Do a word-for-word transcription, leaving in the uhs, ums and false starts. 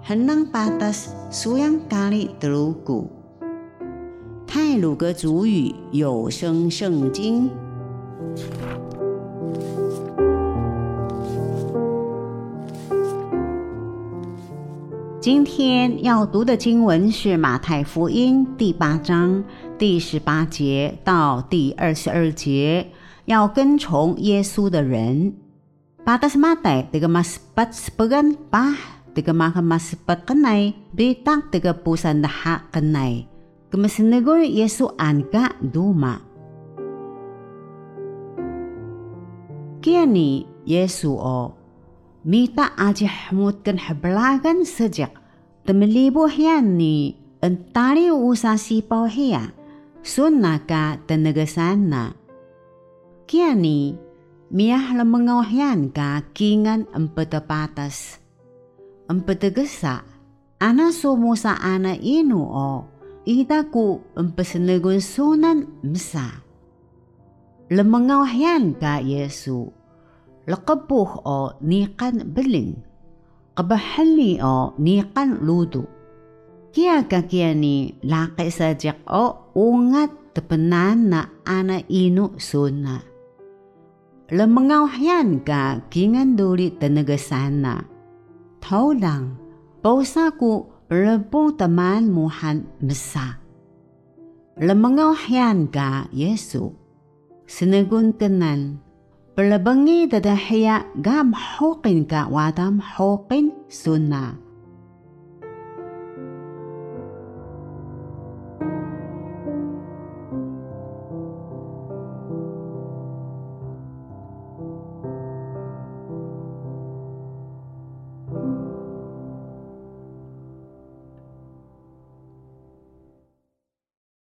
henang patas suyang kali telugu。太鲁阁主语有声圣经。今天要读的经文是马太福音第八章第十八节到第二十二节，要跟从耶稣的人。Patas Matai tiga maspat sepegan pah tiga makan maspat kenai bitak tiga pusan daha kenai kemesenegur Yesu anka duma. Kiani Yesu o mita ajih mutkan hablagan sejak temelibuh yan ni entari usa sipaw hiya sunaka tenegasana. Kiani miyah lemengawahyan ka kingan empete patas empete gesa ana sumusa ana inu o itaku empesenegun sunan msa lemengawahyan ka Yesu lekebuh o nikan beling kabahali o nikan ludu kia kakiani laki sajak o ungat tepenan na ana inu suna lemengawahyan ka kingan duli tenegasana taulang pausaku rebung teman muhan mesa lemengawahyan ka Yesu senegun kenan pelabengi dadahya gam hokin ka wadam hokin sunna